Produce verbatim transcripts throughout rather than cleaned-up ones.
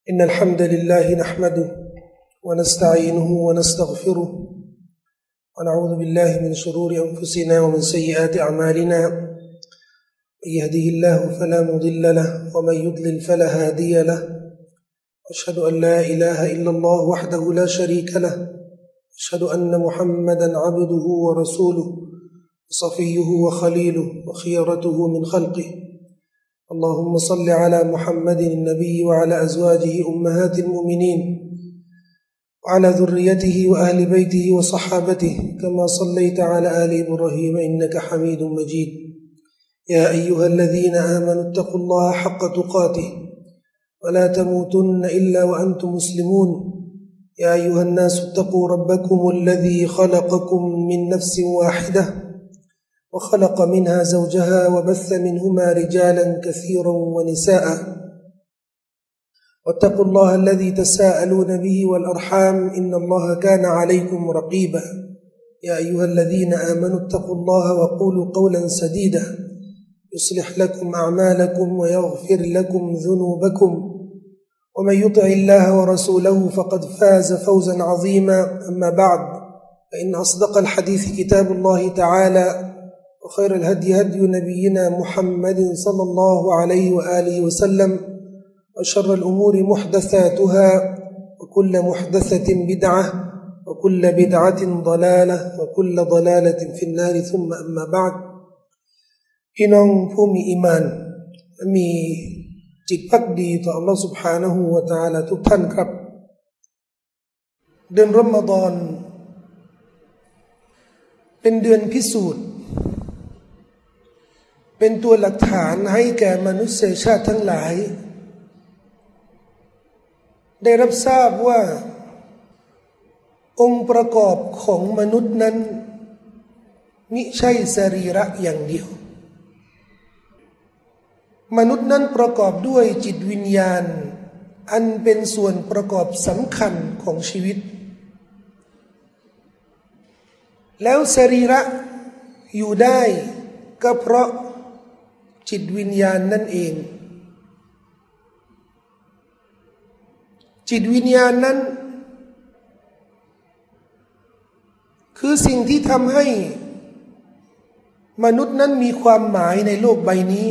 إن الحمد لله نحمده ونستعينه ونستغفره ونعوذ بالله من شرور أنفسنا ومن سيئات أعمالنا من يهده الله فلا مضل له ومن يضلل فلا هادي له أشهد أن لا إله إلا الله وحده لا شريك له أشهد أن محمدا عبده ورسوله صفيه وخليله وخيرته من خلقه اللهم صل على محمد النبي وعلى أزواجه أمهات المؤمنين وعلى ذريته وأهل بيته وصحابته كما صليت على آل إبراهيم إنك حميد مجيد يا أيها الذين آمنوا اتقوا الله حق تقاته ولا تموتن إلا وأنتم مسلمون يا أيها الناس اتقوا ربكم الذي خلقكم من نفس واحدة وخلق منها زوجها وبث منهما رجالا كثيرا ونساء واتقوا الله الذي تساءلون به والأرحام إن الله كان عليكم رقيبا يا أيها الذين آمنوا اتقوا الله وقولوا قولا سديدا يصلح لكم أعمالكم ويغفر لكم ذنوبكم ومن يطع الله ورسوله فقد فاز فوزا عظيما أما بعد فإن أصدق الحديث كتاب الله تعالى وخير الهدي هدي نبينا محمد صلى الله عليه وآله وسلم وشر الأمور محدثاتها وكل محدثة بدعة وكل بدعة ضلالة وكل ضلالة في النار ثم أما بعد พี่น้องผู้มีอีหม่านมีจิตภักดีต่อ Allah سبحانه และ تعالى ทุกท่านครับเดือนรอมฎอนเป็นเดือนพิสูจน์เป็นตัวหลักฐานให้แก่มนุษยชาติทั้งหลายได้รับทราบว่าองค์ประกอบของมนุษย์นั้นมิใช่สรีระอย่างเดียวมนุษย์นั้นประกอบด้วยจิตวิญญาณอันเป็นส่วนประกอบสำคัญของชีวิตแล้วสรีระอยู่ได้ก็เพราะจิตวิญญาณนั่นเองจิตวิญญาณนั้นคือสิ่งที่ทำให้มนุษย์นั้นมีความหมายในโลกใบนี้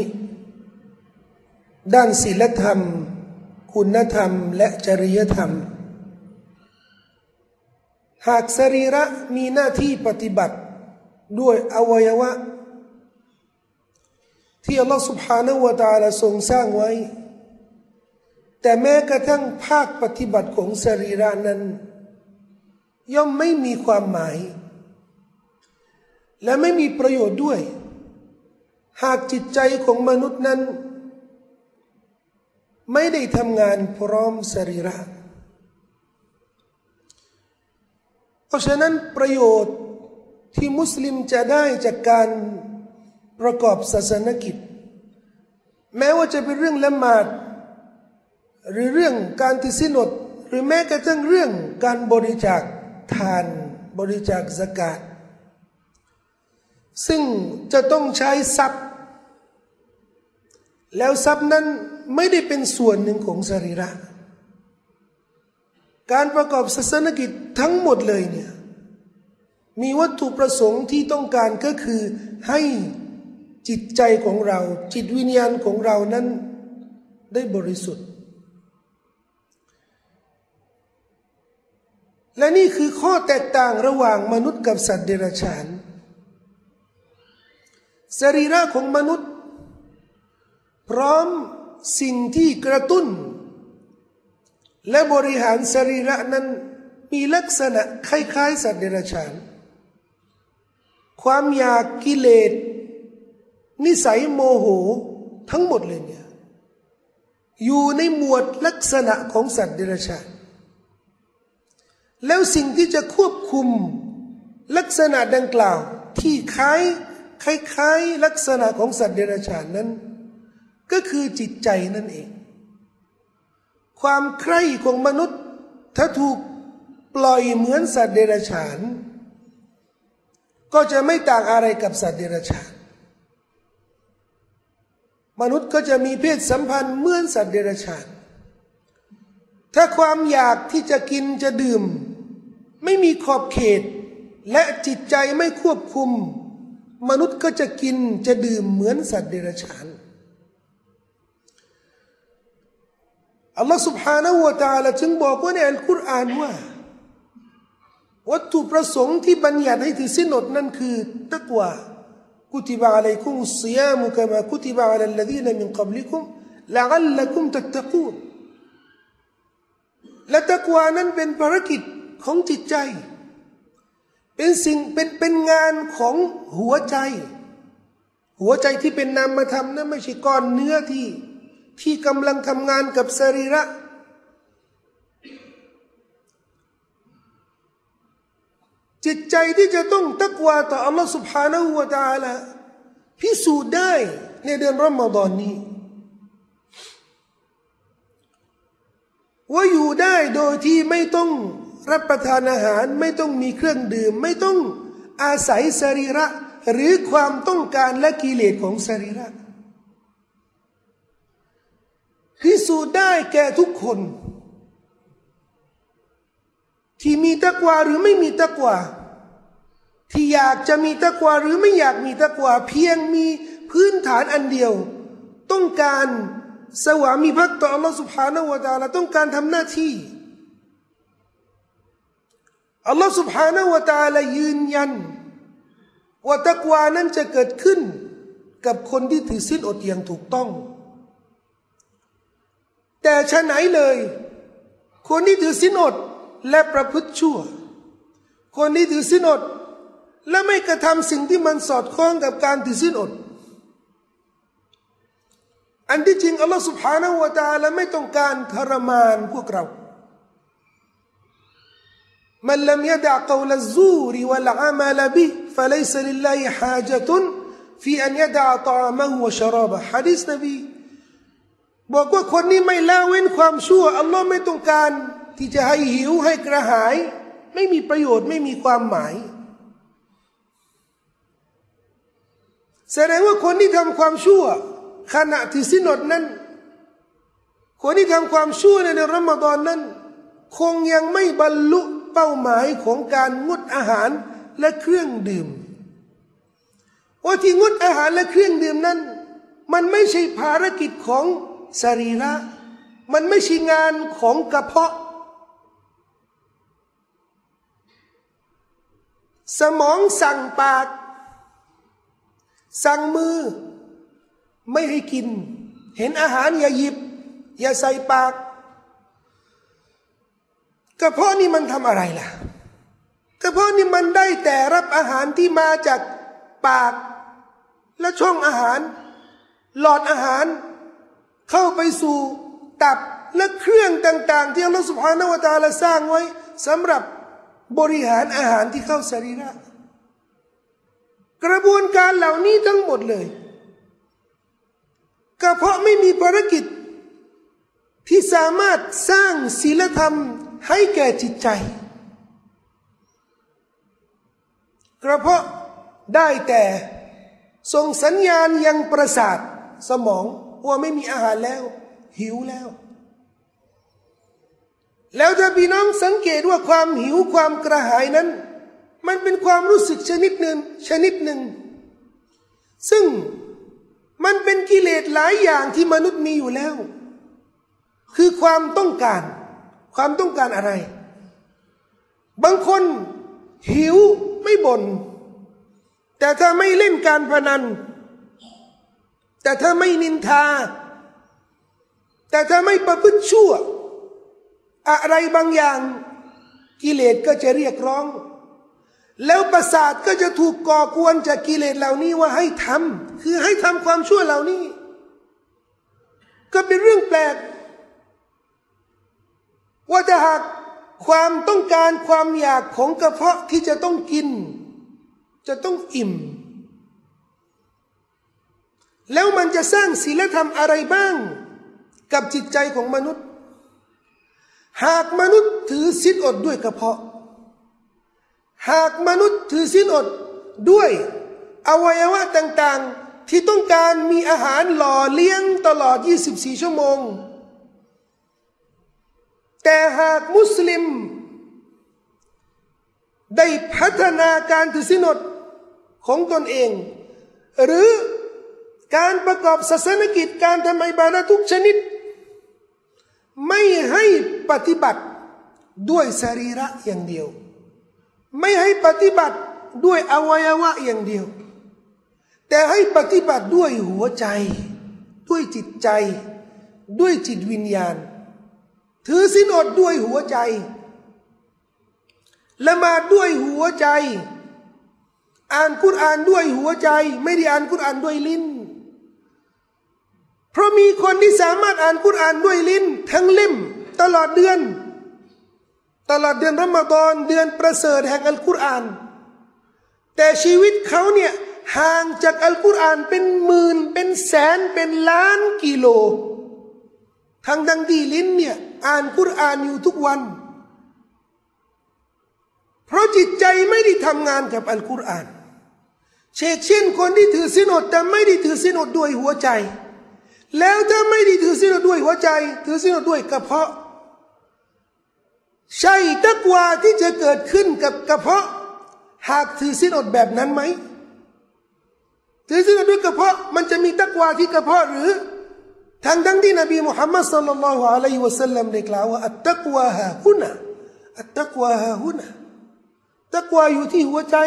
ด้านศีลธรรมคุณธรรมและจริยธรรมหากสรีระมีหน้าที่ปฏิบัติด้วยอวัยวะที่อัลลอฮฺ سبحانه และ تعالى ทรงสร้างไว้แต่แม้กระทั่งภาคปฏิบัติของสรีระนั้นย่อมไม่มีความหมายและไม่มีประโยชน์ด้วยหากจิตใจของมนุษย์นั้นไม่ได้ทำงานพร้อมสรีระเพราะฉะนั้นประโยชน์ที่มุสลิมจะได้จากการประกอบศาสนกิจแม้ว่าจะเป็นเรื่องละหมาดหรือเรื่องการถือศีลอดหรือแม้กระทั่งเรื่องการบริจาคทานบริจาคซะกาตซึ่งจะต้องใช้ทรัพย์แล้วทรัพย์นั้นไม่ได้เป็นส่วนหนึ่งของสรีระการประกอบศาสนกิจทั้งหมดเลยเนี่ยมีวัตถุประสงค์ที่ต้องการก็คือให้จิตใจของเราจิตวิญญาณของเรานั้นได้บริสุทธิ์และนี่คือข้อแตกต่างระหว่างมนุษย์กับสัตว์เดรัจฉานสรีระของมนุษย์พร้อมสิ่งที่กระตุ้นและบริหารสรีระนั้นมีลักษณะคล้ายๆสัตว์เดรัจฉานความอยากกิเลสนิสัยโมโหทั้งหมดเลยเนี่ยอยู่ในหมวดลักษณะของสัตว์เดรัจฉานแล้วสิ่งที่จะควบคุมลักษณะดังกล่าวที่คล้ายคล้ายๆลักษณะของสัตว์เดรัจฉานนั้นก็คือจิตใจนั่นเองความใคร่ของมนุษย์ถ้าถูกปล่อยเหมือนสัตว์เดรัจฉานก็จะไม่ต่างอะไรกับสัตว์เดรัจฉาน มนุษย์ก็จะมีเพศสัมพันธ์เหมือนสัตว์เดรัจฉานถ้าความอยากที่จะกินจะดื่มไม่มีขอบเขตและจิตใจไม่ควบคุมมนุษย์ก็จะกินจะดื่มเหมือนสัตว์เดรัจฉานอัลลอฮฺ سبحانه และ تعالى จึงบอกว่าในอัลกุรอานว่าวัตถุประสงค์ที่บัญญัติให้ถือศีลอดนั่นคือตักวากุติบะอะลัยกุมุศศิยามุกะมากุติบะอะลัลลซีนะมินกับลิกุมละอัลลักุมตัตตะกูนและตักวานั้นเป็นภารกิจของจิตใจเป็นสิ่งเป็นเป็นงานของหัวใจหัวใจที่เป็นนามธรรมนั้นไม่ใช่ก้อนเนื้อที่ที่กำลังทำงานกับสรีระจิตใจที่จะต้องตักวาต่ออัลลอฮฺ سبحانه และ تعالى พิสูจน์ได้ในเดือนรอมฎอนนี้ว่าอยู่ได้โดยที่ไม่ต้องรับประทานอาหารไม่ต้องมีเครื่องดื่มไม่ต้องอาศัยสรีระหรือความต้องการและกิเลสของสรีระพิสูจน์ได้แก่ทุกคนที่มีตักวาหรือไม่มีตักวาที่อยากจะมีตักวาหรือไม่อยากมีตักวาเพียงมีพื้นฐานอันเดียวต้องการสวามิภักดิ์ต่ออัลลอฮฺ سبحانه และ تعالى ต้องการทำหน้าที่อัลลอฮฺ سبحانه และ تعالى ยืนยันว่าตักวานั้นจะเกิดขึ้นกับคนที่ถือศีลอดอย่างถูกต้องแต่ฉะไหนเลยคนที่ถือศีลอดและประพฤติชั่วคนที่ถือศีลอดและไม่กระทำสิ่งที่มันสอดคล้องกับการถือศีลอดอันที่จริงอัลลอฮฺ سبحانه และ تعالى ไม่ต้องการทรมานพวกเราمن لم يدع قول الزور والعمل به فليس لله حاجة في أن يدع طعامه وشرابه หะดีษนบีบอกว่าคนนี้ไม่ละเว้นความชั่วอัลลอฮ์ไม่ต้องการที่จะให้หิวให้กระหายไม่มีประโยชน์ไม่มีความหมายแสดงว่าคนที่ทำความชั่วขณะที่ศีลอดนั้นคนที่ทำความชั่วในเดือนรอมฎอนนั้นคงยังไม่บรรลุเป้าหมายของการงดอาหารและเครื่องดื่มว่าที่งดอาหารและเครื่องดื่มนั้นมันไม่ใช่ภารกิจของสรีระมันไม่ใช่งานของกระเพาะสมองสั่งปากสั่งมือไม่ให้กินเห็นอาหารอย่าหยิบอย่าใส่ปากกระเพาะนี่มันทำอะไรล่ะกระเพาะนี่มันได้แต่รับอาหารที่มาจากปากและช่องอาหารหลอดอาหารเข้าไปสู่ตับและเครื่องต่างๆที่อัลลอฮฺ سبحانه และ تعالى สร้างไว้สำหรับบริหารอาหารที่เข้าสรีระกระบวนการเหล่านี้ทั้งหมดเลยกระเพาะไม่มีภารกิจที่สามารถสร้างศีลธรรมให้แก่จิตใจกระเพาะได้แต่ส่งสัญญาณยังประสาทสมองว่าไม่มีอาหารแล้วหิวแล้วแล้วถ้าพี่น้องสังเกตว่าความหิวความกระหายนั้นมันเป็นความรู้สึกชนิดหนึ่งชนิดหนึ่งซึ่งมันเป็นกิเลสหลายอย่างที่มนุษย์มีอยู่แล้วคือความต้องการความต้องการอะไรบางคนหิวไม่บ่นแต่ถ้าไม่เล่นการพนันแต่ถ้าไม่นินทาแต่ถ้าไม่ประพฤติชั่วอะไรบางอย่างกิเลสก็จะเรียกร้องแล้วประสาทก็จะถูกก่อกวนจากกิเลสเหล่านี้ว่าให้ทำคือให้ทำความชั่วเหล่านี้ก็เป็นเรื่องแปลกว่าถ้าหากความต้องการความอยากของกระเพาะที่จะต้องกินจะต้องอิ่มแล้วมันจะสร้างศีลธรรมอะไรบ้างกับจิตใจของมนุษย์หากมนุษย์ถือศีลอดด้วยกระเพาะหากมนุษย์ถือศีลอดด้วยอวัยวะต่างๆที่ต้องการมีอาหารหล่อเลี้ยงตลอดยี่สิบสี่ชั่วโมงแต่แต่หากมุสลิมได้พัฒนาการถือศีลอดของตนเองหรือการประกอบศาสนกิจการทำอิบาดะห์ทุกชนิดไม่ให้ปฏิบัติด้วยสรีระอย่างเดียวไม่ให้ปฏิบัติด้วยอวัยวะอย่างเดียวแต่ให้ปฏิบัติด้วยหัวใจด้วยจิตใจด้วยจิตวิญญาณถือศีลอดด้วยหัวใจละหมาดด้วยหัวใจอ่านกุรอานด้วยหัวใจไม่ได้อ่านกุรอานด้วยลิ้นเพราะมีคนที่สามารถอ่านกุรอานด้วยลิ้นทั้งเล่มตลอดเดือนตลอดเดือนรอมฎอนเดือนประเสริฐแห่งอัลกุรอานแต่ชีวิตเขาเนี่ยห่างจากอัลกุรอานเป็นหมื่นเป็นแสนเป็นล้านกิโลทั้งดังที่ลิ้นเนี่ยอ่านกุรอานอยู่ทุกวันเพราะจิตใจไม่ได้ทำงานกับอัลกุรอานเช่นเช่นคนที่ถือศีลอดแต่ไม่ได้ถือศีลอดด้วยหัวใจแล้วถ้าไม่ได้ถือศีลอดด้วยหัวใจถือศีลอดด้วยกระเพาะใช่ตักวาที่จะเกิดขึ้นกับกระเพาะหากถือศีลอดแบบนั้นไหมถือศีลอดด้วยกระเพาะมันจะมีตักวาที่กระเพาะหรือทางทั้งที่นบีมุฮัมมัดศ็อลลัลลอฮุอะลัยฮิวะซัลลัมได้กล่าวว่าอัตตักวาฮาฮุนะอัตตักวาฮาฮุนะตักวาอยู่ที่หัวใจ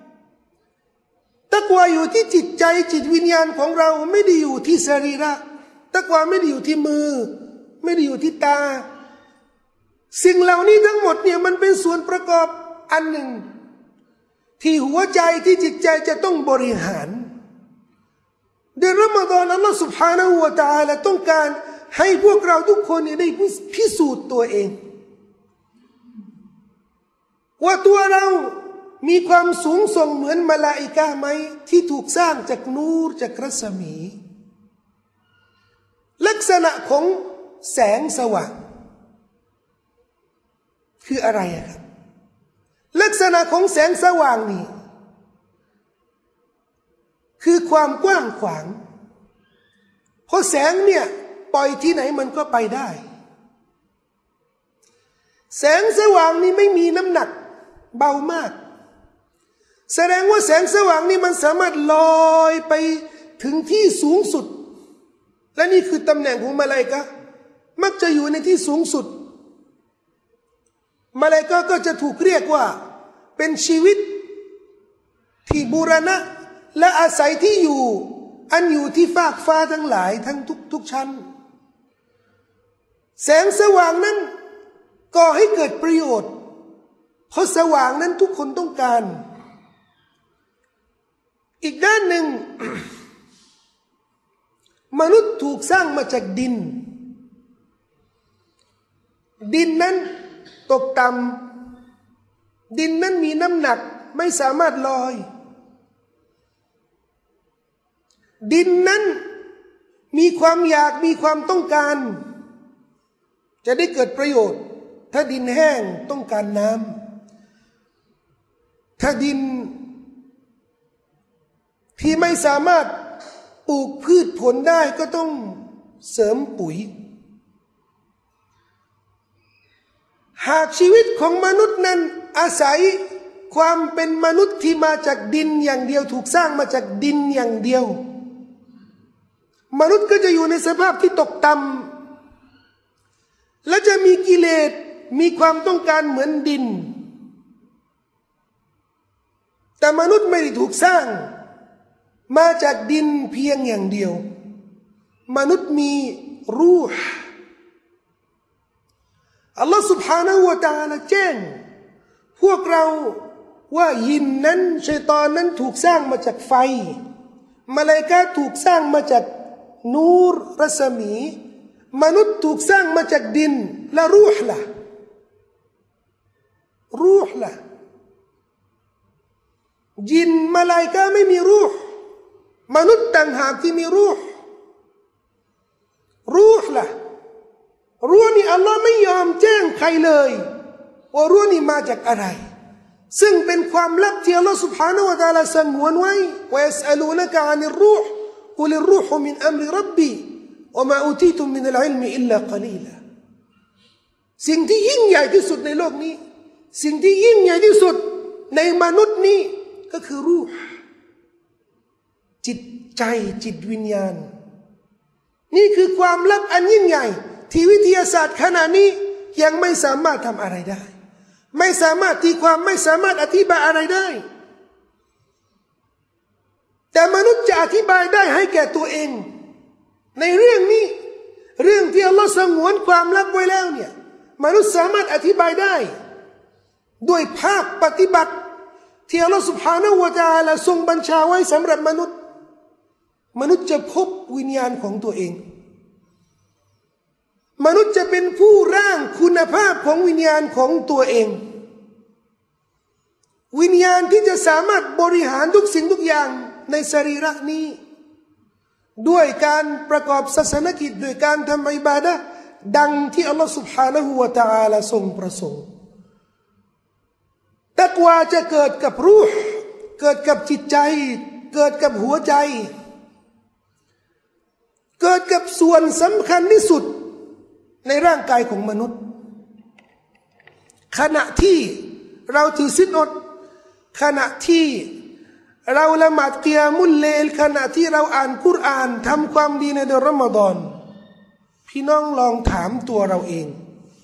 ตักวาอยู่ที่จิตใจจิตวิญญาณของเราไม่ได้อยู่ที่สรีระตักวาไม่ได้อยู่ที่มือไม่ได้อยู่ที่ตาสิ่งเหล่านี้ทั้งหมดเนี่ยมันเป็นส่วนประกอบอันหนึ่งที่หัวใจที่จิตใจจะต้องบริหารเดือนรอมฎอนอัลลอฮฺ سبحانه และ تعالى ต้องการให้พวกเราทุกคนได้พิสูจน์ตัวเองว่าตัวเรามีความสูงส่งเหมือนมลาอิกะห์ไหมที่ถูกสร้างจากนูรจากรัศมีลักษณะของแสงสว่างคืออะไรครับลักษณะของแสงสว่างนี่คือความกว้างขวางเพราะแสงเนี่ยปล่อยที่ไหนมันก็ไปได้แสงสว่างนี่ไม่มีน้ำหนักเบามากแสดงว่าแสงสว่างนี่มันสามารถลอยไปถึงที่สูงสุดและนี่คือตำแหน่งของมลาอิกะห์มักจะอยู่ในที่สูงสุดมลาอิกะห์ก็จะถูกเรียกว่าเป็นชีวิตที่บูรณะและอาศัยที่อยู่อันอยู่ที่ฟากฟ้าทั้งหลายทั้งทุกทุกชั้นแสงสว่างนั้นก่อให้เกิดประโยชน์เพราะสว่างนั้นทุกคนต้องการอีกด้านหนึ่ง มนุษย์ถูกสร้างมาจากดินดินนั้นตกต่ำดินนั้นมีน้ำหนักไม่สามารถลอยดินนั้นมีความอยากมีความต้องการจะได้เกิดประโยชน์ถ้าดินแห้งต้องการน้ำถ้าดินที่ไม่สามารถปลูกพืชผลได้ก็ต้องเสริมปุ๋ยหากชีวิตของมนุษย์นั้นอาศัยความเป็นมนุษย์ที่มาจากดินอย่างเดียวถูกสร้างมาจากดินอย่างเดียวมนุษย์ก็จะอยู่ในสภาพที่ตกต่ำและจะมีกิเลสมีความต้องการเหมือนดินแต่มนุษย์ไม่ได้ถูกสร้างมาจากดินเพียงอย่างเดียวมนุษย์มีรูห์อัลลอฮฺ سبحانه และ تعالى แจ้งพวกเราว่ายินนั้นชัยฏอนนั้นถูกสร้างมาจากไฟมลาอิกะห์ถูกสร้างมาจากนูรรัศมีมนุษย์ถูกสร้างมาจากดินและรูห์ล่ะรูห์ล่ะยินมลาอิกะห์ไม่มีรูห์มนุษย์ต่างหากที่มีรูห์รูห์ล่ะรูห์นี่อัลลอฮ์ไม่ยอมแจ้งใครเลยว่ารูห์นี่มาจากอะไรซึ่งเป็นความลับที่อัลลอฮ์ سبحانه และ تعالى สงวนไว้ว่ายัสอลูนะกะอานิรรูห์กุลิรรูห์มินอัมริร็อบบีวะมาอูตีตุมมินัลอิลมิอิลลากะลีลาสิ่งที่ยิ่งใหญ่ที่สุดในโลกนี้สิ่งที่ยิ่งใหญ่ที่สุดในมนุษย์นี้ก็คือรูห์จิตใจจิตวิญญาณนี่คือความลับอันยิ่งใหญ่ที่วิทยาศาสตร์ขณะนี้ยังไม่สามารถทำอะไรได้ไม่สามารถตีความไม่สามารถอธิบายอะไรได้แต่มนุษย์จะอธิบายได้ให้แก่ตัวเองในเรื่องนี้เรื่องที่อัลลอฮ์สงวนความลับไว้แล้วเนี่ยมนุษย์สามารถอธิบายได้ด้วยภาคปฏิบัติที่อัลลอฮ์ سبحانه และ تعالى ทรงบัญชาไว้สำหรับมนุษย์มนุษย์จะพบวิญญาณของตัวเองมนุษย์จะเป็นผู้ร่างคุณภาพของวิญญาณของตัวเองวิญญาณที่จะสามารถบริหารทุกสิ่งทุกอย่างในสรีระนี้ด้วยการประกอบศาสนกิจด้วยการทำอิบาดะห์ดังที่อัลลอฮฺ سبحانه และ تعالى ทรงประสงค์ตักวาจะเกิดกับรูห์เกิดกับจิตใจเกิดกับหัวใจเกิดกับส่วนสำคัญที่สุดในร่างกายของมนุษย์ขณะที่เราถือศีลอดขณะที่เราละหมาดกิยามุลเลลขณะที่เราอ่านกุรอานทำความดีในเดือนรอมฎอนพี่น้องลองถามตัวเราเอง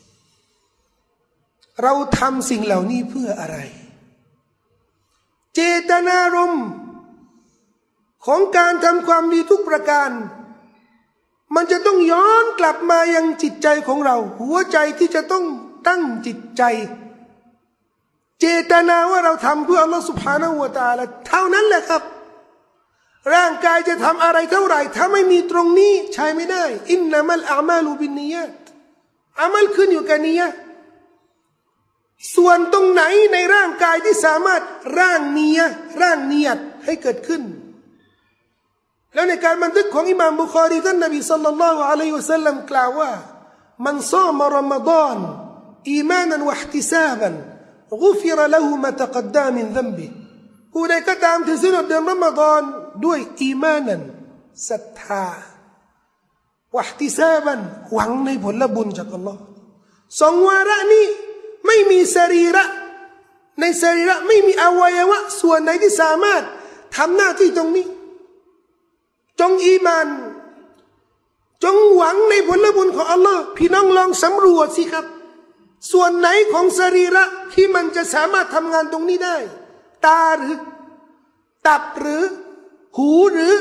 เราทำสิ่งเหล่านี้เพื่ออะไรเจตนารมณ์ของการทำความดีทุกประการมันจะต้องย้อนกลับมายังจิตใจของเราหัวใจที่จะต้องตั้งจิตใจเจตนาว่าเราทำเพื่ออัลลอฮฺ سبحانه และ تعالى เท่านั้นแหละครับร่างกายจะทำอะไรเท่าไหร่ถ้าไม่มีตรงนี้ใช้ไม่ได้อินนัมัลอามาลุบินนียะตอามัลขึ้นอยู่กับนียะห์ส่วนตรงไหนในร่างกายที่สามารถร่างนียะห์ร่างนียะห์ให้เกิดขึ้นแล้วในการบันทึกของอิหม่ามบุคอรีท่านนบีศ็อลลัลลอฮุอะลัยฮิวะซัลลัมกล่าวว่ามันซามรอมฎอนอีมานันวะอิห์ติซาบันกุฟิรละฮูมาตะกัดดามินซัมบิผู้ใดก็ตามที่ศีลอดเดือนรอมฎอนด้วยอีมานันศรัทธาวะอิห์ติซาบันหวังในผลบุญจากอัลลอฮ์สองวาระนี้ไม่มีสรีระในสรีระไม่มีอวัยวะส่วนไหนที่สามารถทำหน้าที่ตรงนี้จงอีมานจงหวังในผลบุญของอัลลอฮ์พี่น้องลองสำรวจสิครับส่วนไหนของสรีระที่มันจะสามารถทำงานตรงนี้ได้ตาหรือตับหรือหูหรือ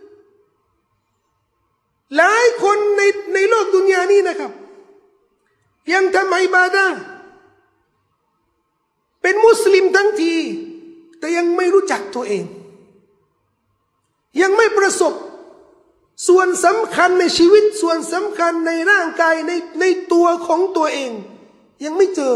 หลายคนในในโลกดุนยานี้นะครับยังทำอิบาดะห์เป็นมุสลิมทั้งทีแต่ยังไม่รู้จักตัวเองยังไม่ประสบส่วนสำคัญในชีวิตส่วนสำคัญในร่างกายในในตัวของตัวเองยังไม่เจอ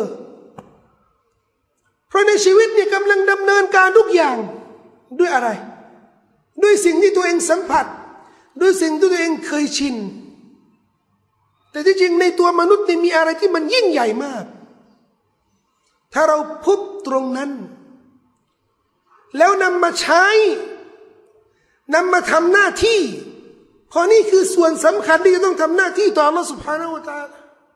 เพราะในชีวิตเนี่ยกำลังดำเนินการทุกอย่างด้วยอะไรด้วยสิ่งที่ตัวเองสัมผัสด้วยสิ่งที่ตัวเองเคยชินแต่ที่จริงในตัวมนุษย์นี่มีอะไรที่มันยิ่งใหญ่มากถ้าเราพบตรงนั้นแล้วนำมาใช้นำมาทำหน้าที่เพราะนี่คือส่วนสำคัญที่จะต้องทำหน้าที่ต่ออัลลอฮฺ سبحانه และ تعالى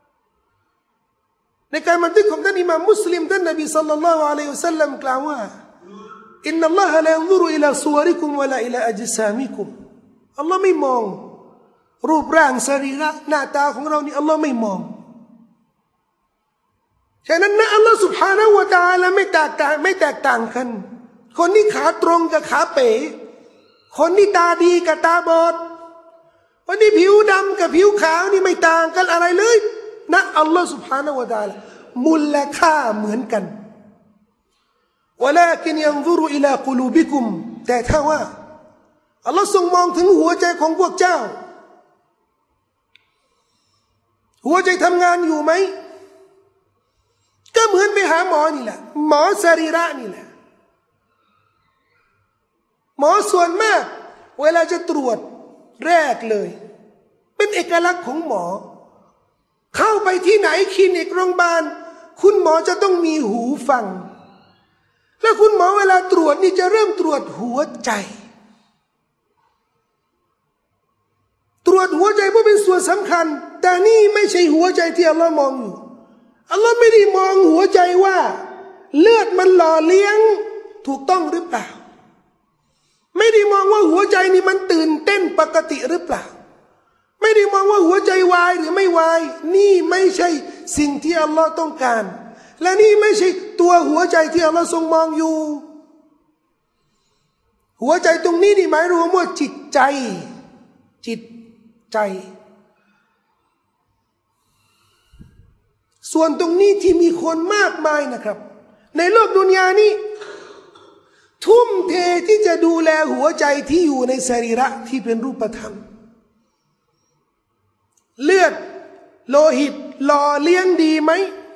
ในการบันทึกของท่านอิหม่ามมุสลิมท่านนบีศ็อลลัลลอฮุอะลัยฮิวะซัลลัมกล่าวว่าอินนัลลอฮะลายันซุรุอิลาซุวริกุมวะลาอิลาอัจซามิกุมอัลลอฮ์ไม่มองรูปร่างสรีระหน้าตาของเรานี่อัลลอฮ์ไม่มองฉะนั้นนะอัลลอฮ์ سبحانه และ تعالى ไม่แตกต่างไม่แตกต่างกันคนที่ขาตรงกับขาเป๋คนที่ตาดีกับตาบอดคนที่ผิวดำกับผิวขาวนี่ไม่ต่างกันอะไรเลยนะอัลลอฮ์ سبحانه และ تعالى มูลค่าเหมือนกันวะลากินยันซุรุอิลากุลูบิกุมแต่ถ้าว่าอัลลอฮ์ทรงมองถึงหัวใจของพวกเจ้าหัวใจทำงานอยู่ไหมก็เหมือนไปหาหมอนี่แหละหมอสรีระนี่แหละหมอส่วนมากเวลาจะตรวจแรกเลยเป็นเอกลักษณ์ของหมอเข้าไปที่ไหนคลินิกโรงพยาบาลคุณหมอจะต้องมีหูฟังแล้วคุณหมอเวลาตรวจนี่จะเริ่มตรวจหัวใจตรวจหัวใจเพราะเป็นส่วนสำคัญแต่นี่ไม่ใช่หัวใจที่อัลลอฮ์มองอยู่อัลลอฮ์ไม่ได้มองหัวใจว่าเลือดมันหล่อเลี้ยงถูกต้องหรือเปล่าไม่ได้มองว่าหัวใจนี่มันตื่นเต้นปกติหรือเปล่าไม่ได้มองว่าหัวใจวายหรือไม่วายนี่ไม่ใช่สิ่งที่อัลลอฮ์ต้องการและนี่ไม่ใช่ตัวหัวใจที่อัลลอฮ์ทรงมองอยู่หัวใจตรงนี้นี่หมายรวมว่าจิตใจจิตใจส่วนตรงนี้ที่มีคนมากมายนะครับในโลกดุนยานี้ทุ่มเทที่จะดูแลหัวใจที่อยู่ในสรีระที่เป็นรูปธรรมเลือดโลหิตหล่อเลี้ยงดีไหม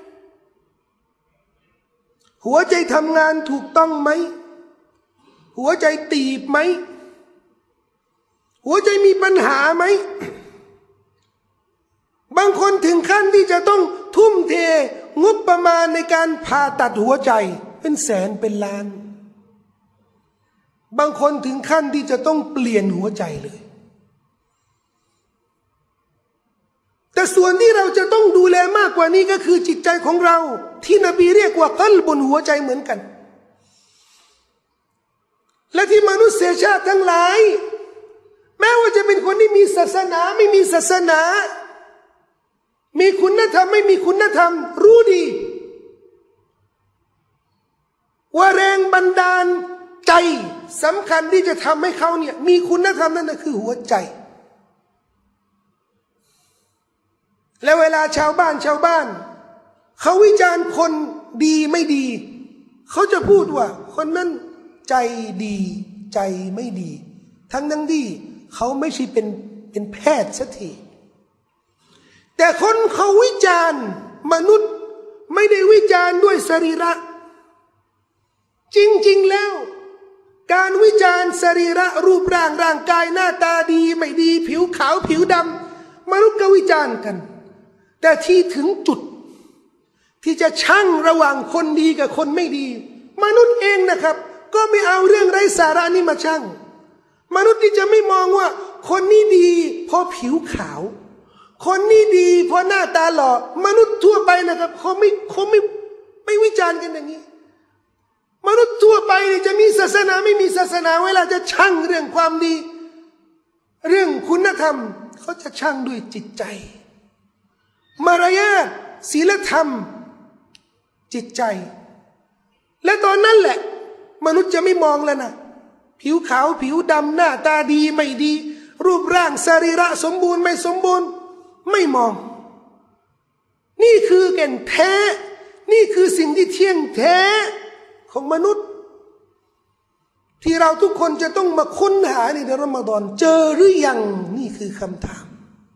หัวใจทำงานถูกต้องไหมหัวใจตีบไหมหัวใจมีปัญหาไหมบางคนถึงขั้นที่จะต้องทุ่มเทงบประมาณในการผ่าตัดหัวใจเป็นแสนเป็นล้านบางคนถึงขั้นที่จะต้องเปลี่ยนหัวใจเลยแต่ส่วนที่เราจะต้องดูแลมากกว่านี้ก็คือจิตใจของเราที่นบีเรียกว่ากัลบนหัวใจเหมือนกันและที่มนุษยชาติทั้งหลายแม้ว่าจะเป็นคนที่มีศาสนาไม่มีศาสนามีคุณธรรมไม่มีคุณธรรมรู้ดีว่าแรงบันดาลใจสำคัญที่จะทำให้เขาเนี่ยมีคุณธรรมนั่นก็คือหัวใจและเวลาชาวบ้านชาวบ้านเขาวิจารณ์คนดีไม่ดีเขาจะพูดว่าคนนั้นใจดีใจไม่ดีทั้งนั้นที่เขาไม่ใช่เป็นเป็นแพทย์สักทีแต่คนเขาวิจารณ์มนุษย์ไม่ได้วิจารณ์ด้วยสรีระจริงๆแล้วการวิจารณ์สรีระรูปร่างร่างกายหน้าตาดีไม่ดีผิวขาวผิวดำมนุษย์ก็วิจารณ์กันแต่ที่ถึงจุดที่จะชั่งระหว่างคนดีกับคนไม่ดีมนุษย์เองนะครับก็ไม่เอาเรื่องไร้สาระนี้มาชั่งมนุษย์ที่จะไม่มองว่าคนนี้ดีเพราะผิวขาวคนนี้ดีเพราะหน้าตาหล่อมนุษย์ทั่วไปนะครับเขาไม่เขาไม่ไม่วิจารณ์กันอย่างนี้มนุษย์ทั่วไปจะมีศาสนาไม่มีศาสนาเวลาจะชั่งเรื่องความดีเรื่องคุณธรรมเขาจะชั่งด้วยจิตใจมารยาทศีลธรรมจิตใจและตอนนั้นแหละมนุษย์จะไม่มองแล้วนะผิวขาวผิวดำหน้าตาดีไม่ดีรูปร่างสรีระสมบูรณ์ไม่สมบูรณ์ไม่มองนี่คือแก่นแท้นี่คือสิ่งที่เที่ยงแท้ของมนุษย์ที่เราทุกคนจะต้องมาค้นหาในเดือนรอมฎอนเจอหรือยังนี่คือคำถาม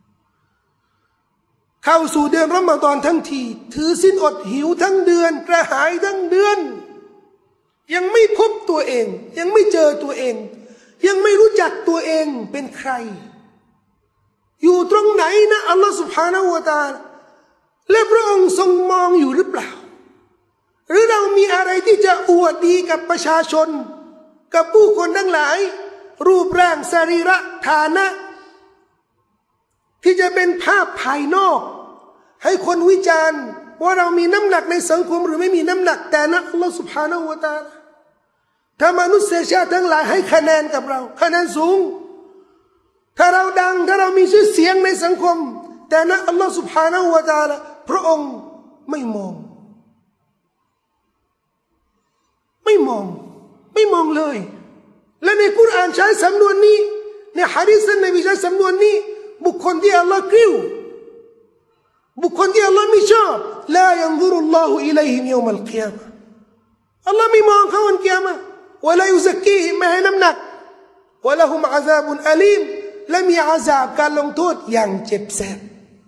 เข้าสู่เดือนรอมฎอนทั้งทีถือศีลอดหิวทั้งเดือนกระหายทั้งเดือนยังไม่พบตัวเองยังไม่เจอตัวเองยังไม่รู้จักตัวเองเป็นใครอยู่ตรงไหนนะอัลลอฮฺ سبحانه และ تعالى และพระองค์ทรงมองอยู่หรือเปล่าหรือเรามีอะไรที่จะอวดดีกับประชาชนกับผู้คนทั้งหลายรูปร่างสรีระฐานะที่จะเป็นภาพภายนอกให้คนวิจารณ์ว่าเรามีน้ำหนักในสังคมหรือไม่มีน้ำหนักแต่นะอัลลอฮฺ سبحانه และ تعالى ถ้ามนุษยชาติทั้งหลายให้คะแนนกับเราคะแนนสูงถ้าเราดังถ้าเรามีชื่อเสียงในสังคมแต่นะอัลลอฮฺ سبحانه และ تعالى พระองค์ไม่มองไม่มองไม่มองเลยและในกุรอานใช้สำนวนนี้ในหะดีษท่านนบีใช้สำนวนนี้บุคคลที่อัลลอฮ์กริ้วบุคคลที่อัลลอฮ์ไม่ชอบลายันซุรุลลอฮุอิลัยฮิมยอมัลกิยามะห์อัลลอฮ์ไม่มองเขาวันกิยามะห์วะลายุซักกีฮิมไม่ให้น้ำหนักวะละฮุมอาซาบุนอะลีมและมีอาซาบการลงโทษอย่างเจ็บแสบ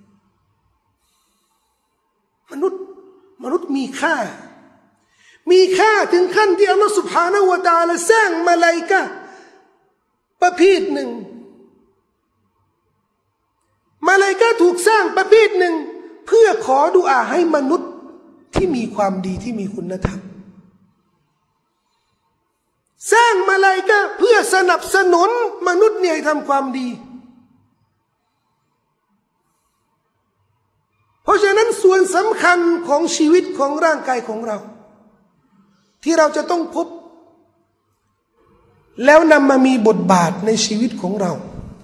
มนุษย์มนุษย์มีค่ามีค่าถึงขั้นที่อัลลอฮฺ سبحانه และ تعالى สร้างมาลาอิกะฮ์ประเภทหนึ่งมาลาอิกะฮ์ถูกสร้างประเภทหนึ่งเพื่อขอดุอาให้มนุษย์ที่มีความดีที่มีคุณธรรมสร้างมาลาอิกะฮ์เพื่อสนับสนุนมนุษย์เนี่ยให้ทำความดีเพราะราะฉะนั้นส่วนสำคัญของชีวิตของร่างกายของเราที่เราจะต้องพบแล้วนำมามีบทบาทในชีวิตของเรา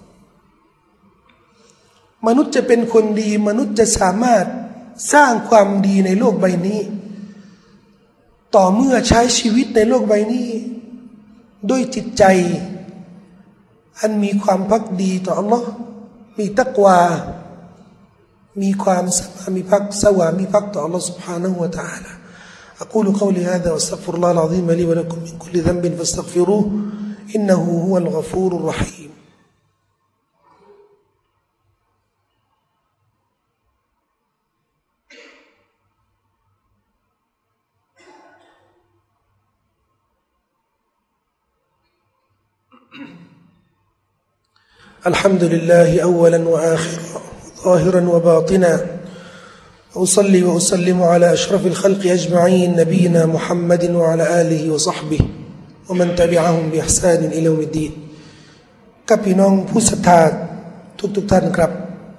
มนุษย์จะเป็นคนดีมนุษย์จะสามารถสร้างความดีในโลกใบนี้ต่อเมื่อใช้ชีวิตในโลกใบนี้ด้วยจิตใจอันมีความภักดีต่ออัลลอฮ์มีตักวามีความสมามีภักสวามีภักต่ออัลลอฮ์ سبحانه และ تعالى أقول قولي هذا وأستغفر الله العظيم لي ولكم من كل ذنب فاستغفروه إنه هو الغفور الرحيم الحمد لله أولا وآخرا ظاهرا وباطنا أصلي وأسلم على أشرف الخلق أجمعين نبينا محمد وعلى آله وصحبه ومن تبعهم بإحسان إلى يوم الدين กับพี่น้องผู้ศรัทธาทุกๆท่านครับ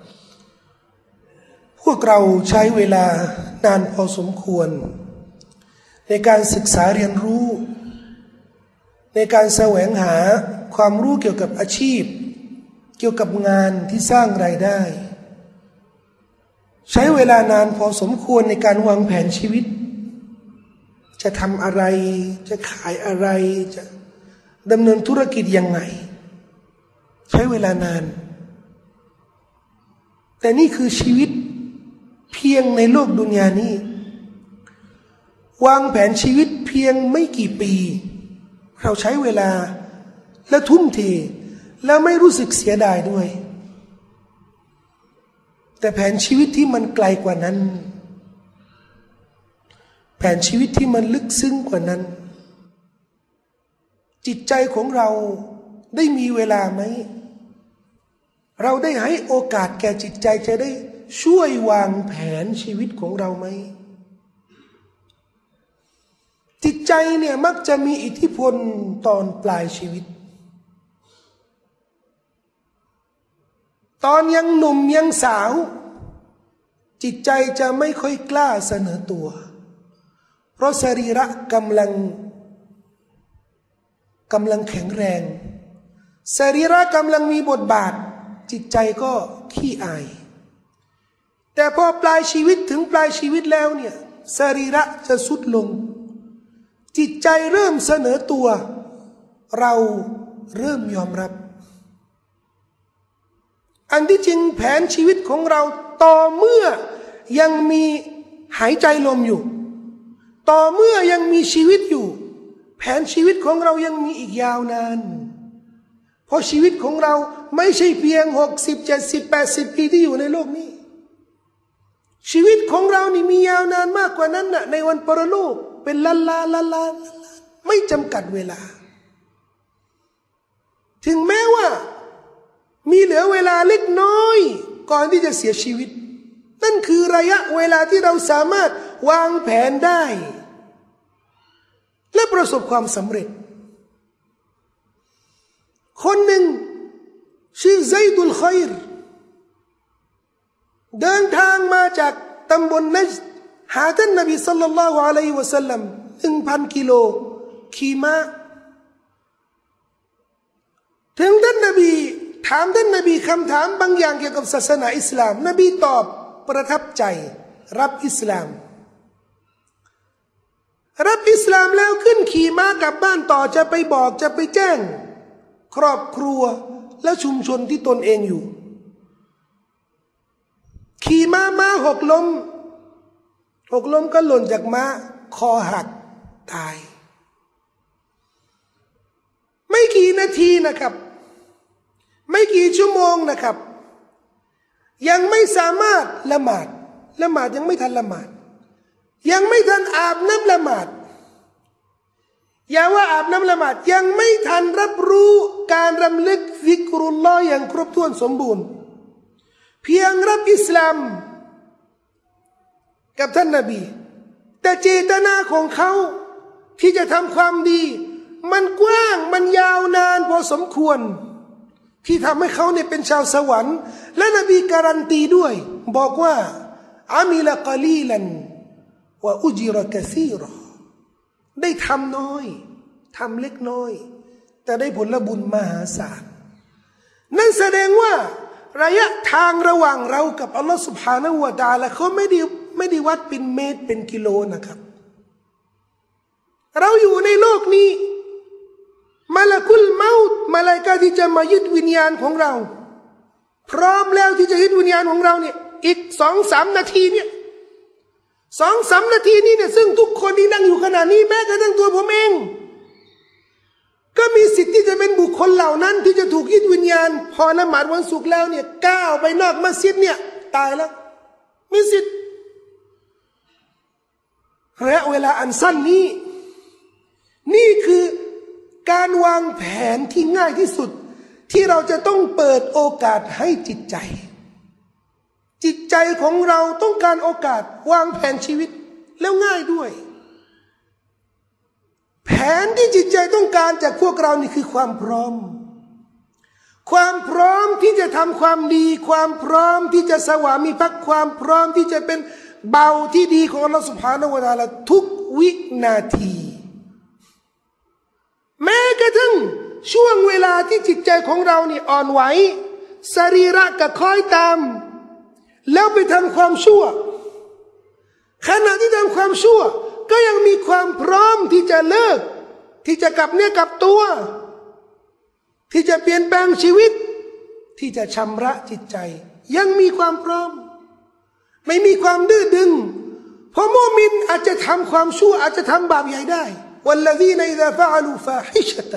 พวกเราใช้เวลานานพอสมควรในการศึกษาเรียนรู้ในการแสวงหาความรู้เกี่ยวกับอาชีพเกี่ยวกับงานที่สร้างรายได้ใช้เวลานานพอสมควรในการวางแผนชีวิตจะทำอะไรจะขายอะไรจะดำเนินธุรกิจยังไงใช้เวลานานแต่นี่คือชีวิตเพียงในโลกดุนยานี้วางแผนชีวิตเพียงไม่กี่ปีเราใช้เวลาและทุ่มเทแล้วไม่รู้สึกเสียดายด้วยแต่แผนชีวิตที่มันไกลกว่านั้นแผนชีวิตที่มันลึกซึ้งกว่านั้นจิตใจของเราได้มีเวลาไหมเราได้ให้โอกาสแก่จิตใจจะได้ช่วยวางแผนชีวิตของเราไหมจิตใจเนี่ยมักจะมีอิทธิพลตอนปลายชีวิตตอนยังหนุ่มยังสาวจิตใจจะไม่ค่อยกล้าเสนอตัวเพราะสรีระกำลังกำลังแข็งแรงสรีระกำลังมีบทบาทจิตใจก็ขี้อายแต่พอปลายชีวิตถึงปลายชีวิตแล้วเนี่ยสรีระจะสุดลงจิตใจเริ่มเสนอตัวเราเริ่มยอมรับอันที่จริงแผนชีวิตของเราต่อเมื่อยังมีหายใจลมอยู่ต่อเมื่อยังมีชีวิตอยู่แผนชีวิตของเรายังมีอีกยาวนานเพราะชีวิตของเราไม่ใช่เพียงหกสิบเจ็ดสิบแปดสิบปีที่อยู่ในโลกนี้ชีวิตของเรานี่มียาวนานมากกว่านั้นน่ะในวันปรโลกเป็นล้านล้านล้านล้านไม่จำกัดเวลาถึงแม้ว่ามีเหลือเวลาเล็กน้อยก่อนที่จะเสียชีวิตนั่นคือระยะเวลาที่เราสามารถวางแผนได้และประสบความสำเร็จคนหนึ่งชื่อไซดุลคอยร์เดินทางมาจากตำบลนัจด์หาท่านนบีศ็อลลัลลอฮุอะลัยฮิวะซัลลัมหนึ่งพันกิโลขี่ม้าถึงท่านนบีถามท่านนบีคำถามบางอย่างเกี่ยวกับศาสนาอิสลามนบีตอบประทับใจรับอิสลามรับอิสลามแล้วขึ้นขี่ม้ากลับบ้านต่อจะไปบอกจะไปแจ้งครอบครัวและชุมชนที่ตนเองอยู่ขี่ม้าม้าหกล้มหกล้มก็หล่นจากม้าคอหักตายไม่กี่นาทีนะครับไม่กี่ชั่วโมงนะครับยังไม่สามารถละหมาดละหมาดยังไม่ทันละหมาดยังไม่ทันอาบน้ำละหมาดอย่าว่าอาบน้ำละหมาดยังไม่ทันรับรู้การรำลึกซิกรุลลอฮ์อย่างครบถ้วนสมบูรณ์เพียงรับอิสลามกับท่านนบีแต่เจตนาของเขาที่จะทำความดีมันกว้างมันยาวนานพอสมควรที่ทำให้เขาเนี่ยเป็นชาวสวรรค์และนบีการันตีด้วยบอกว่าอามิละกะลีลันวะอุจิรกะซีรอได้ทำน้อยทำเล็กน้อยแต่ได้ผลบุญมหาศาลนั่นแสดงว่าระยะทางระหว่างเรากับอัลลอฮฺ سبحانه และ تعالى เขาไม่ได้ไม่ได้วัดเป็นเมตรเป็นกิโลนะครับเราอยู่ในโลกนี้มาลากุลเมาต์มาลาอิกะฮ์ที่จะมายึดวิญญาณของเราพร้อมแล้วที่จะยึดวิญญาณของเราเนี่ยอีกสองสามนาทีเนี่ยสองสามนาทีนี้เนี่ยซึ่งทุกคนที่นั่งอยู่ขณะนี้แม้กระทั่งตัวผมเองก็มีสิทธิ์ที่จะเป็นบุคคลเหล่านั้นที่จะถูกยึดวิญญาณพอละหมาดวันศุกร์แล้วเนี่ยก้าวไปนอกมัสยิดเนี่ยตายแล้วมีสิทธิ์ระยะเวลาอันสั้นนี้นี่คือการวางแผนที่ง่ายที่สุดที่เราจะต้องเปิดโอกาสให้จิตใจจิตใจของเราต้องการโอกาสวางแผนชีวิตแล้วง่ายด้วยแผนที่จิตใจต้องการจากพวกเรานี่คือความพร้อมความพร้อมที่จะทำความดีความพร้อมที่จะสวามิภักดิ์ความพร้อมที่จะเป็นเบาที่ดีของอัลลอฮฺ سبحانه และ تعالى ทุกวินาทีแม้กระทั่งช่วงเวลาที่จิตใจของเรานี่อ่อนไหวสรีระก็คอยตามแล้วไปทำความชั่วขณะที่ทำความชั่วก็ยังมีความพร้อมที่จะเลิกที่จะกลับเนื้อกลับตัวที่จะเปลี่ยนแปลงชีวิตที่จะชำระจิตใจยังมีความพร้อมไม่มีความดื้อดึงเพราะมุมินอาจจะทำความชั่วอาจจะทำบาปใหญ่ได้والذين إذا فعلوا فاحشة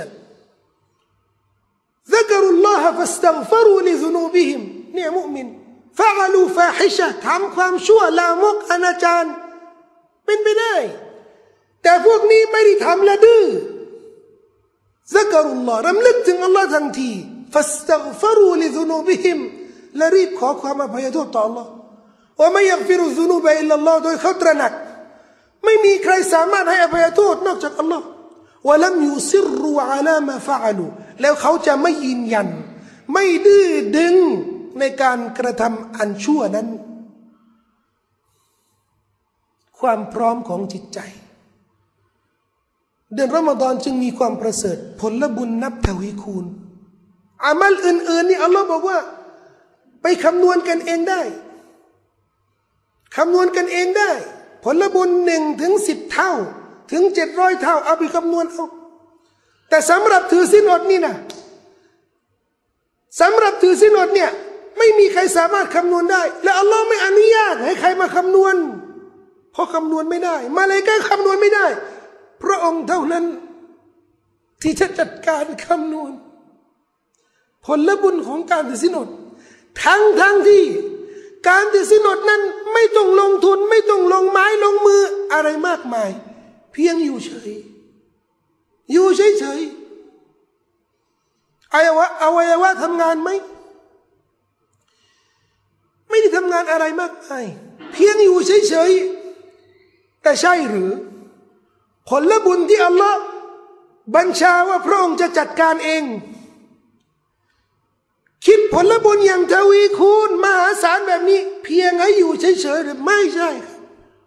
ذكروا الله فاستغفروا لذنوبهم เนี่ยมุมิน فعلوا فاحشة ทำความชั่วลามกอนาจารเป็นไปได้แต่พวกนี้ไม่ได้ทำละดื้อ ذكروا الله รำลึกถึงอัลลอฮ์ทันที فاستغفروا لذنوبهم และรีบขอความอภัยโทษต่ออัลลอฮ์وما يغفر الذنوب إلا الله โดยเขาตระหนักไม่มีใครสามารถให้อภัยโทษนอกจากอัลลอฮ์วะลัมยุซิรรูอะลามาฟะอะลูแล้วเขาจะไม่ยืนยันไม่ดื้อดึงในการกระทำอันชั่วนั้นความพร้อมของจิตใจเดือนรอมฎอนจึงมีความประเสริฐผลบุญนับทวีคูณอามัลอื่นๆนี่อัลลอฮ์บอกว่าไปคำนวณกันเองได้คำนวณกันเองได้ผลบุญหนึ่งถึงสิบเท่าถึงเจ็ดร้อยเท่าเอาไปคำนวณเอาแต่สำหรับถือศีลอดนี่นะสำหรับถือศีลอดเนี่ยไม่มีใครสามารถคำนวณได้และอัลลอฮ์ไม่อนุญาตให้ใครมาคำนวณเพราะคำนวณไม่ได้มาเลยก็คำนวณไม่ได้พระองค์เท่านั้นที่จะจัดการคำนวณผลบุญของการถือศีลอดทั้งทั้งที่การถือศีลอดนั้นไม่ต้องลงทุนไม่ต้องลงไม้ลงมืออะไรมากมายเพียงอยู่เฉยอยู่เฉยเฉยอวัยวะอวัยวะทำงานไหมไม่ได้ทำงานอะไรมากมายเพียงอยู่เฉยเฉยแต่ใช่หรือผลบุญที่อัลลอฮ์บัญชาว่าพระองค์จะจัดการเองคิดผลบุญอย่างทวีคูณมหาศาลแบบนี้เพียงให้อยู่เฉยๆหรือไม่ใช่ครับ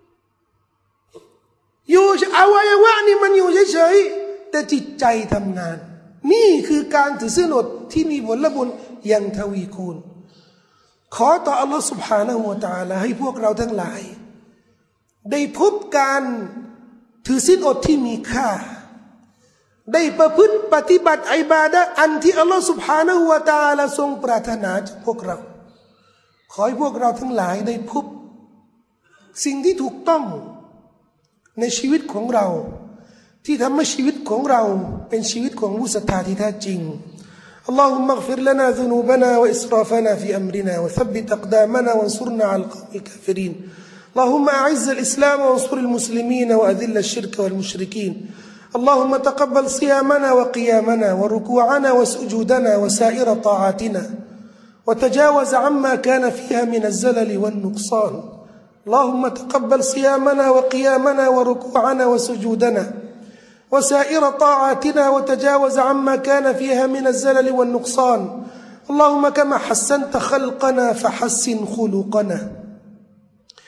อยู่อวัยวะนี่มันอยู่เฉยๆแต่จิตใจทำงานนี่คือการถือศีลอดที่มีผลบุญอย่างทวีคูณขอต่ออัลลอฮฺ سبحانه และ تعالى ให้พวกเราทั้งหลายได้พบการถือศีลอดที่มีค่าได้ประพฤติปฏิบัติอิบาดะห์อันที่อัลลอฮฺ سبحانه และ تعالى ทรงปรารถนาจากพวกเราขอให้พวกเราทั้งหลายได้พบสิ่งที่ถูกต้องในชีวิตของเราที่ทำให้ชีวิตของเราเป็นชีวิตของผู้ศรัทธาที่แท้จริง اللهم اغفر لنا ذنوبنا وإسرافنا في أمرنا وثبت أقدامنا وانصرنا على القوم الكافرين اللهم أعز الإسلام وانصر المسلمين وأذل الشرك والمشركين اللهم تقبل صيامنا وقيامنا وركوعنا وسجودنا وسائر طاعاتنا وتجاوز عما كان فيها من الزلل والنقصان اللهم تقبل صيامنا وقيامنا وركوعنا وسجودنا وسائر طاعاتنا وتجاوز عما كان فيها من الزلل والنقصان اللهم كما حسنت خلقنا فحسن خلقنا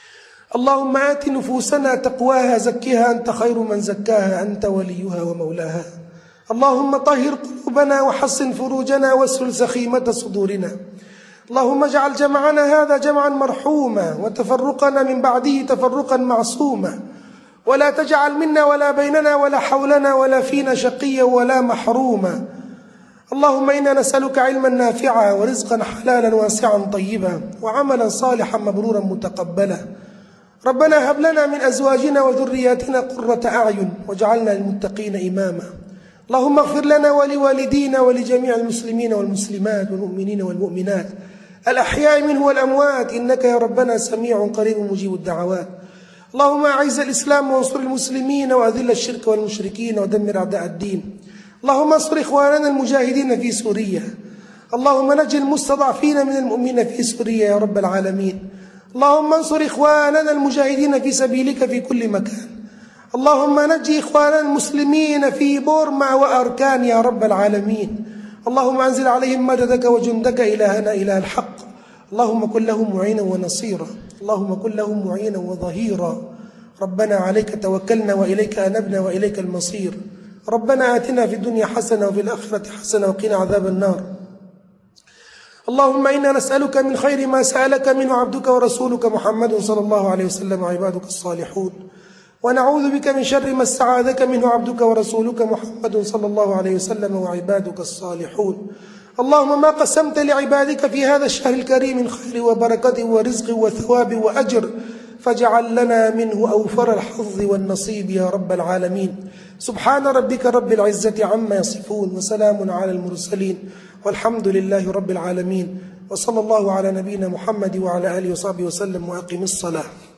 اللهم آت نفوسنا تقواها زكها أنت خير من زكاها أنت وليها ومولاها. اللهم طهر قلوبنا وحصن فروجنا واسلل سخيمة صدورنا. اللهم اجعل جمعنا هذا جمعا مرحوما وتفرقنا من بعده تفرقا معصوما، ولا تجعل منا ولا بيننا ولا حولنا ولا فينا شقيا ولا محروما. اللهم إنا نسألك علما نافعا ورزقا حلالا واسعا طيبا وعملا صالحا مبرورا متقبلا. ربنا هب لنا من أزواجنا وذرياتنا قرة أعين واجعلنا للمتقين إماما. اللهم اغفر لنا ولوالدينا ولجميع المسلمين والمسلمات والمؤمنين والمؤمنات الأحياء منه والأموات، إنك يا ربنا سميع قريب مجيب الدعوات. اللهم أعز الإسلام وانصر المسلمين وأذل الشرك والمشركين ودمر أعداء الدين. اللهم انصر إخواننا المجاهدين في سوريا. اللهم نجي المستضعفين من المؤمنين في سوريا يا رب العالمين. اللهم انصر إخواننا المجاهدين في سبيلك في كل مكان. اللهم نجي إخواننا المسلمين في بورما وأركان يا رب العالمين. اللهم أنزل عليهم مددك وجندك إلهنا إله الحق. اللهم كن لهم معينا ونصيرا. اللهم كن لهم معينا وظهيرا. ربنا عليك توكلنا وإليك أنبنا وإليك المصير. ربنا آتنا في الدنيا حسنة وفي الآخرة حسنة وقنا عذاب النار. اللهم إنا نسألك من خير ما سألك منه عبدك ورسولك محمد صلى الله عليه وسلم وعبادك الصالحون، ونعوذ بك من شر ما استعاذك منه عبدك ورسولك محمد صلى الله عليه وسلم وعبادك الصالحون. اللهم ما قسمت لعبادك في هذا الشهر الكريم من خير وبركة ورزق وثواب وأجر فاجعل لنا منه أوفر الحظ والنصيب يا رب العالمين. سبحان ربك رب العزة عما يصفون وسلام على المرسلين والحمد لله رب العالمين، وصلى الله على نبينا محمد وعلى آله وصحبه وسلم، وأقم الصلاة.